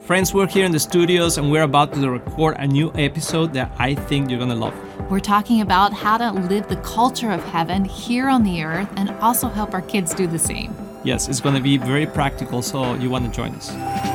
Friends, we're here in the studios and we're about to record a new episode that I think you're going to love. We're talking about how to live the culture of heaven here on the earth and also help our kids do the same. Yes, it's going to be very practical, so you want to join us.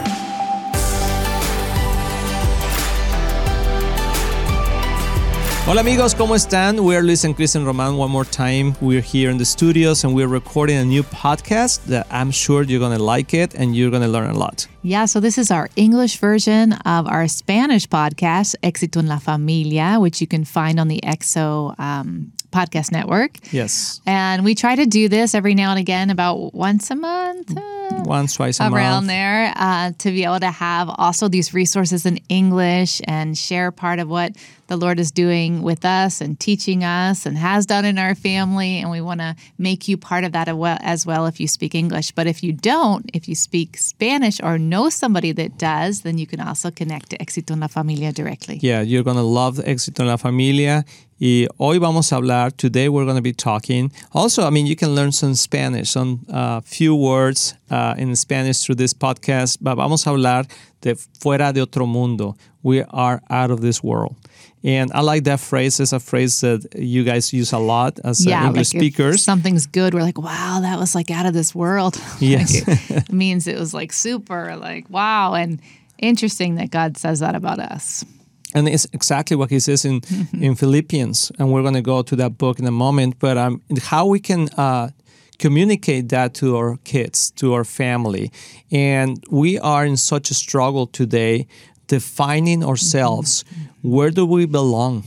Hola amigos, ¿cómo están? We're Luis and Chris and Roman one more time. We're here in the studios and we're recording a new podcast that I'm sure you're going to like it and you're going to learn a lot. Yeah, so this is our English version of our Spanish podcast, Éxito en la Familia, which you can find on the EXO podcast network. Yes. And we try to do this every now and again, about once a month. Once, twice a month. Around there, to be able to have also these resources in English and share part of what the Lord is doing with us and teaching us and has done in our family. And we want to make you part of that as well if you speak English. But if you don't, if you speak Spanish or know somebody that does, then you can also connect to Éxito en la Familia directly. Yeah, you're going to love Éxito en la Familia. Y hoy vamos a hablar, today we're going to be talking. Also, you can learn some Spanish, some few words in Spanish through this podcast. But vamos a hablar de fuera de otro mundo. We are out of this world. And I like that phrase. It's a phrase that you guys use a lot as English speakers. If something's good, we're like, wow, that was like out of this world. Yes. It means it was like super, like, wow. And interesting that God says that about us. And it's exactly what he says in Philippians. And we're going to go to that book in a moment. But how we can communicate that to our kids, to our family. And we are in such a struggle today defining ourselves. Where do we belong?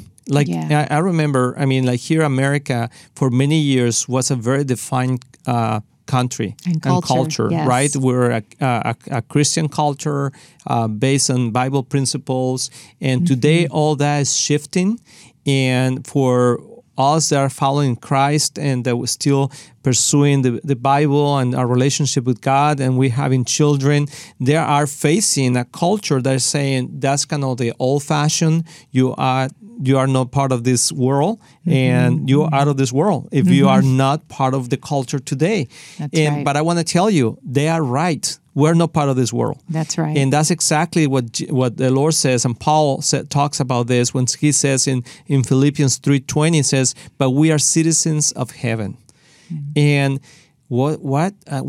I remember, here America for many years was a very defined country and culture, yes. Right? We're a Christian culture based on Bible principles. And today all that is shifting. And for us that are following Christ and that we're still pursuing the Bible and our relationship with God and we're having children, they are facing a culture that is saying that's kind of the old-fashioned, you are not part of this world and you are out of this world if you are not part of the culture today. That's right. But I want to tell you, they are right. We're not part of this world. That's right. And that's exactly what the Lord says. And Paul talks about this when he says in Philippians 3:20, says, but we are citizens of heaven. And what?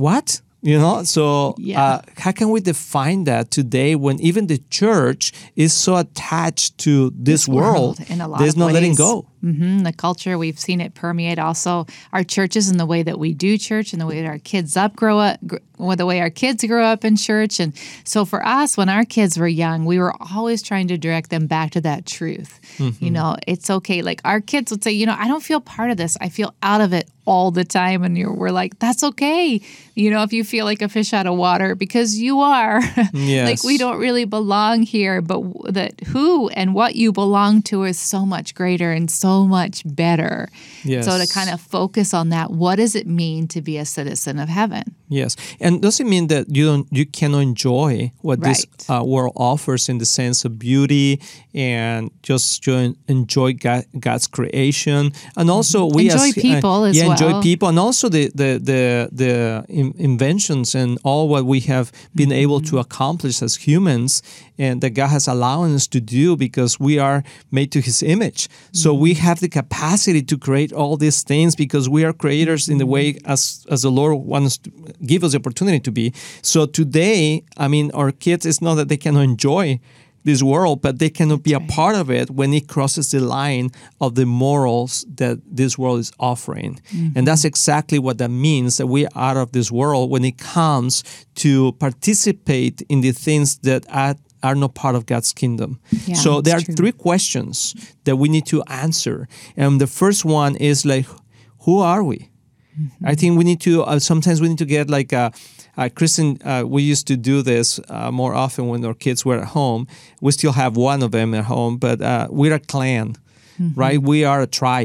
How can we define that today when even the church is so attached to this world? In a lot there's of no ways. letting go. The culture, we've seen it permeate also our churches and the way that we do church and the way that our kids the way our kids grow up in church. And so for us, when our kids were young, we were always trying to direct them back to that truth. It's okay. Like our kids would say, I don't feel part of this. I feel out of it all the time. And we're like, that's okay. If you feel like a fish out of water, because you are. Yes. Like we don't really belong here, but that who and what you belong to is so much greater and so much better. Yes. So to kind of focus on that, what does it mean to be a citizen of heaven? Yes, and doesn't mean that you cannot enjoy what Right. this world offers in the sense of beauty and just to enjoy God's creation, and also we enjoy people as well. enjoy people, and also the inventions and all what we have been able to accomplish as humans, and that God has allowed us to do because we are made to His image. So we have the capacity to create all these things because we are creators in the way as the Lord wants to give us the opportunity to be. So today, our kids, it's not that they cannot enjoy this world, but they cannot be a part of it when it crosses the line of the morals that this world is offering. And that's exactly what that means, that we are out of this world when it comes to participate in the things that are not part of God's kingdom. Yeah, so there are true. 3 questions that we need to answer. And the first one is who are we? I think we need to, sometimes we need to get like Kristen, we used to do this more often when our kids were at home. We still have one of them at home, but we're a clan, right? We are a tribe.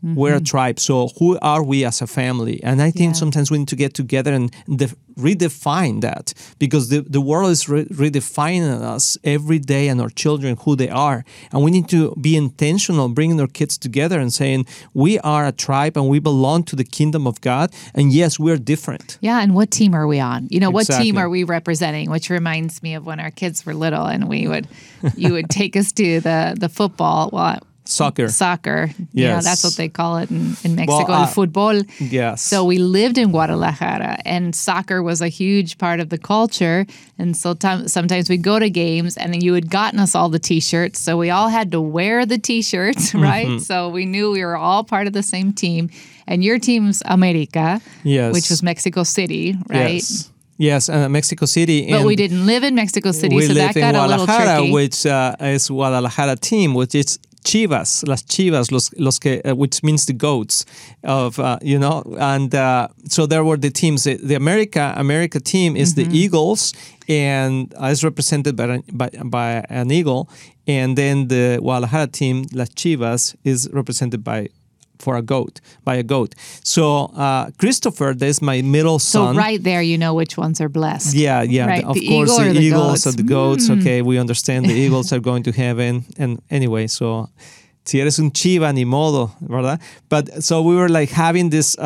We're a tribe. So who are we as a family? And I think sometimes we need to get together and redefine that, because the world is redefining us every day, and our children, who they are. And we need to be intentional, bringing our kids together and saying, we are a tribe and we belong to the kingdom of God. And yes, we're different. Yeah, and what team are we on? What Exactly. team are we representing? Which reminds me of when our kids were little, and you would take us to the football. Soccer. Yeah, that's what they call it in Mexico, el fútbol. Yes. So we lived in Guadalajara, and soccer was a huge part of the culture. And so sometimes we'd go to games, and you had gotten us all the T-shirts. So we all had to wear the T-shirts, right? So we knew we were all part of the same team. And your team's America, which was Mexico City, right? Yes, Mexico City. But we didn't live in Mexico City, we so that live got in a little Guadalajara, tricky. which is Guadalajara team, which is Chivas, las Chivas, los que, which means the goats of, and so there were the teams. The America team is the Eagles, and is represented by an eagle, and then the Guadalajara team, las Chivas, is represented by a goat. So Christopher, there's my middle son. So right there, you know which ones are blessed. Yeah. Right. Of the course, eagle the or the eagles goats. are the goats. Okay, we understand the eagles are going to heaven. And anyway, so si eres un chiva, ni modo, ¿verdad? But so we were like having this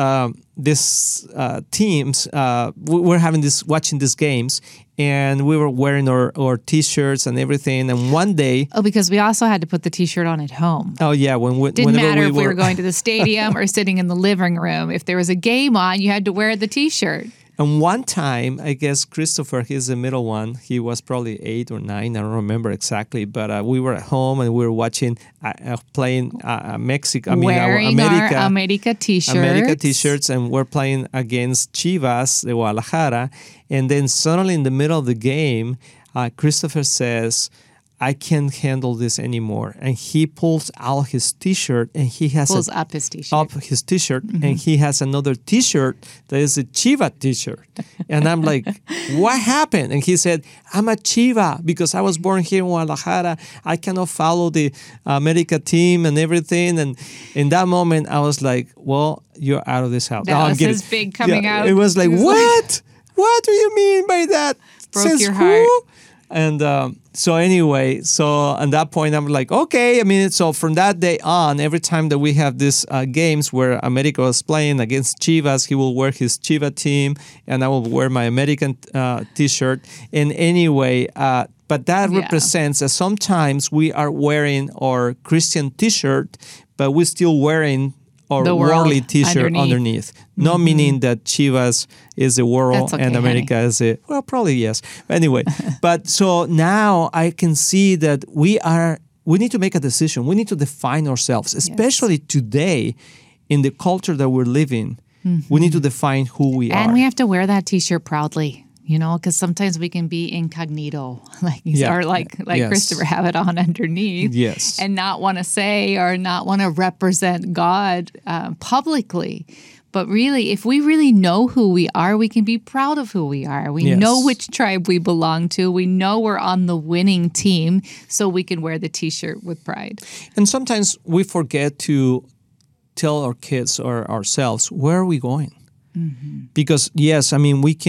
teams. We were having watching these games, and we were wearing our T-shirts and everything. And one day, because we also had to put the T-shirt on at home. Oh yeah, Didn't matter if we were going to the stadium or sitting in the living room. If there was a game on, you had to wear the T-shirt. And one time, I guess Christopher, he's the middle one. He was probably 8 or 9. I don't remember exactly. But we were at home and we were watching, playing Mexico. Wearing our America T-shirts. America T-shirts, and we're playing against Chivas de Guadalajara. And then suddenly in the middle of the game, Christopher says, I can't handle this anymore. And he pulls out his T-shirt, and he has up his T-shirt. And he has another T-shirt that is a Chiva T-shirt. And I'm like, what happened? And he said, I'm a Chiva because I was born here in Guadalajara. I cannot follow the America team and everything. And in that moment, I was like, well, you're out of this house. That was his big coming out. It was like, what? What do you mean by that? Broke your heart. And so anyway, at that point, I'm like, okay. I mean, so from that day on, every time that we have these games where America was playing against Chivas, he will wear his Chiva team, and I will wear my American T-shirt. And anyway, but that represents that sometimes we are wearing our Christian T-shirt, but we're still wearing or worldly T-shirt underneath. Not meaning that Chivas is the world and America is it. Well, probably yes. Anyway, but so now I can see that we need to make a decision. We need to define ourselves, especially today in the culture that we're living. We need to define who we are. And we have to wear that T-shirt proudly. Because sometimes we can be incognito, or like Christopher, have it on underneath, and not want to say or not want to represent God publicly. But really, if we really know who we are, we can be proud of who we are. We know which tribe we belong to. We know we're on the winning team, so we can wear the T-shirt with pride. And sometimes we forget to tell our kids or ourselves, where are we going? Because yes, I mean, we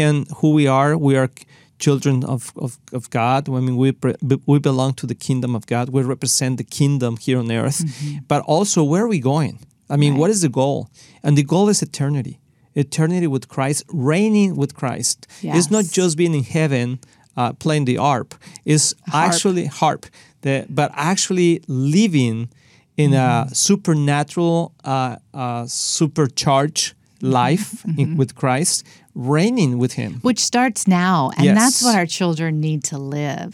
are children of God. I mean, we belong to the kingdom of God. We represent the kingdom here on earth. But also, where are we going? I mean, what is the goal? And the goal is eternity. Eternity with Christ, reigning with Christ. It's not just being in heaven playing the harp. It's actually but actually living in a supernatural, supercharged life with Christ, reigning with Him. Which starts now, and that's what our children need to live.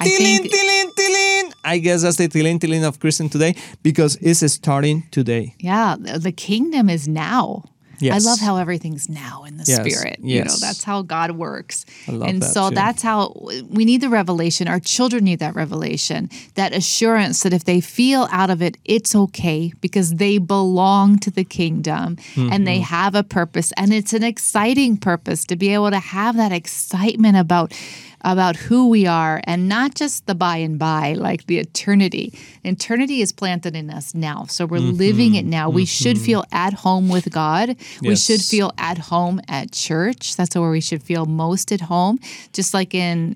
I guess that's the tilin of Christian today, because it's starting today. Yeah, the kingdom is now. Yes. I love how everything's now in the Spirit. Yes. That's how God works. I love and that so too. that's how we need the revelation. Our children need that revelation, that assurance that if they feel out of it, it's okay because they belong to the kingdom and they have a purpose. And it's an exciting purpose to be able to have that excitement about about who we are, and not just the by and by, like the eternity. Eternity is planted in us now, so we're living it now. We should feel at home with God. We Yes. should feel at home at church. That's where we should feel most at home. Just like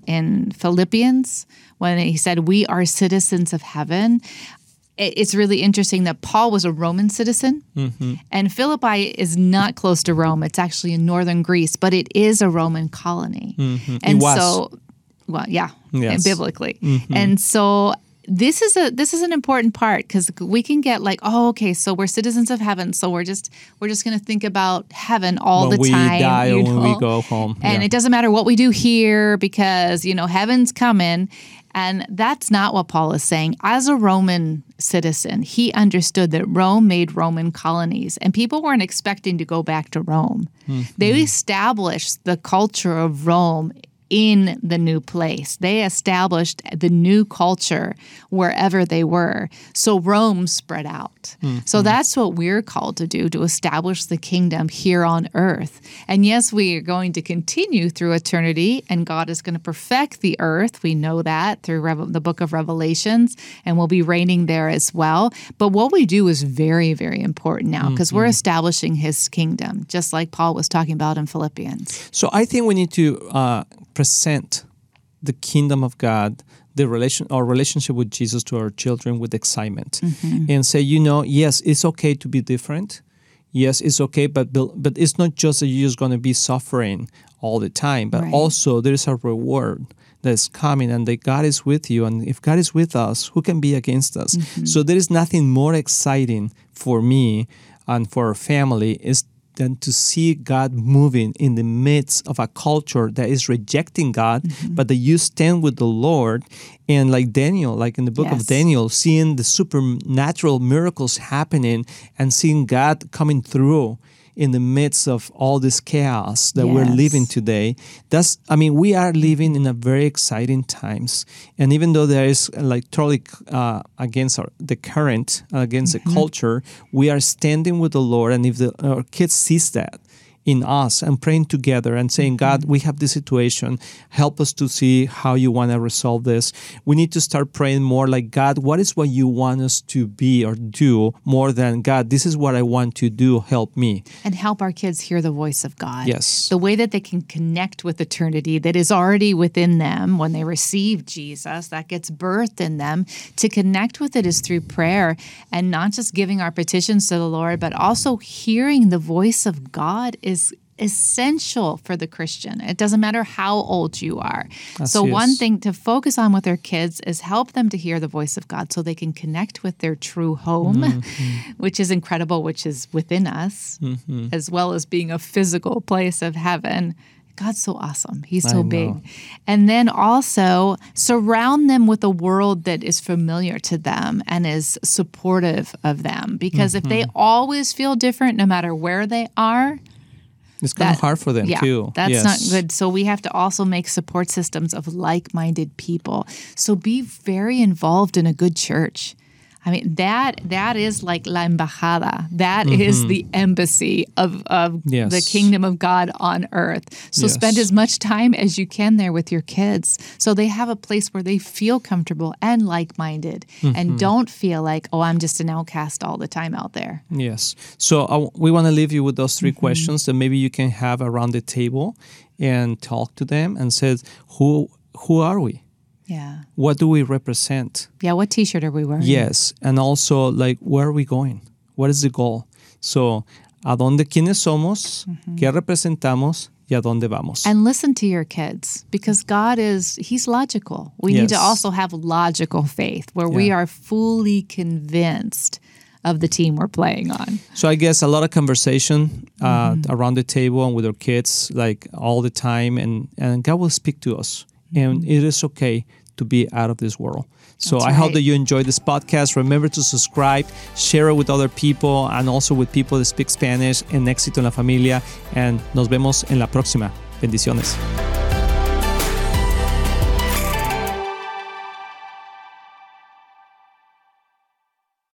in Philippians, when he said, we are citizens of heaven. It's really interesting that Paul was a Roman citizen, and Philippi is not close to Rome. It's actually in northern Greece, but it is a Roman colony. And It was. so, well, yeah, Yes. biblically. And so this is an important part, because we can get like, oh, okay, so we're citizens of heaven, so we're just going to think about heaven all when the we time. die or you when we know? go home. And Yeah. it doesn't matter what we do here, because, heaven's coming. And that's not what Paul is saying. As a Roman citizen, he understood that Rome made Roman colonies, and people weren't expecting to go back to Rome. They established the culture of Rome in the new place. They established the new culture wherever they were. So Rome spread out. So that's what we're called to do, to establish the kingdom here on earth. And yes, we are going to continue through eternity, and God is going to perfect the earth. We know that through the book of Revelations, and we'll be reigning there as well. But what we do is very, very important now, because we're establishing his kingdom, just like Paul was talking about in Philippians. So I think we need to present the kingdom of God, our relationship with Jesus to our children with excitement, and say, yes, it's okay to be different. Yes, it's okay, but it's not just that you're just going to be suffering all the time, but Right. also there is a reward that's coming, and that God is with you. And if God is with us, who can be against us? So there is nothing more exciting for me and for our family than to see God moving in the midst of a culture that is rejecting God, but that you stand with the Lord. And like Daniel, like in the book Yes. of Daniel, seeing the supernatural miracles happening and seeing God coming through in the midst of all this chaos that we're Yes. living today. We are living in a very exciting times. And even though there is like totally against the current, against the culture, we are standing with the Lord. And if our kids sees that in us and praying together and saying, God, we have this situation. Help us to see how you want to resolve this. We need to start praying more like, God, what is what you want us to be or do, more than, God, this is what I want to do. Help me. And help our kids hear the voice of God. Yes. The way that they can connect with eternity that is already within them when they receive Jesus, that gets birthed in them. To connect with it is through prayer, and not just giving our petitions to the Lord, but also hearing the voice of God is essential for the Christian. It doesn't matter how old you are. So yes. one thing to focus on with their kids is help them to hear the voice of God so they can connect with their true home, which is incredible, which is within us, as well as being a physical place of heaven. God's so awesome. He's so big. And then also surround them with a world that is familiar to them and is supportive of them. Because if they always feel different, no matter where they are, it's kind of hard for them too. That's Yes. not good. So we have to also make support systems of like-minded people. So be very involved in a good church. I mean, that is like la embajada. That is the embassy of Yes. the kingdom of God on earth. So Yes. spend as much time as you can there with your kids, so they have a place where they feel comfortable and like-minded, and don't feel like, oh, I'm just an outcast all the time out there. Yes. So we want to leave you with those three questions that maybe you can have around the table and talk to them and say, who are we? Yeah. What do we represent? Yeah, what T-shirt are we wearing? Yes. And also, like, where are we going? What is the goal? So, ¿a dónde quiénes somos? ¿Qué representamos? ¿Y a dónde vamos? And listen to your kids, because He's logical. We need to Yes. also have logical faith where we Yeah. are fully convinced of the team we're playing on. So I guess a lot of conversation around the table and with our kids, like all the time, and God will speak to us. And it is okay to be out of this world. So That's I hope right. that you enjoyed this podcast. Remember to subscribe, share it with other people, and also with people that speak Spanish. En Éxito en la Familia. And nos vemos en la próxima. Bendiciones.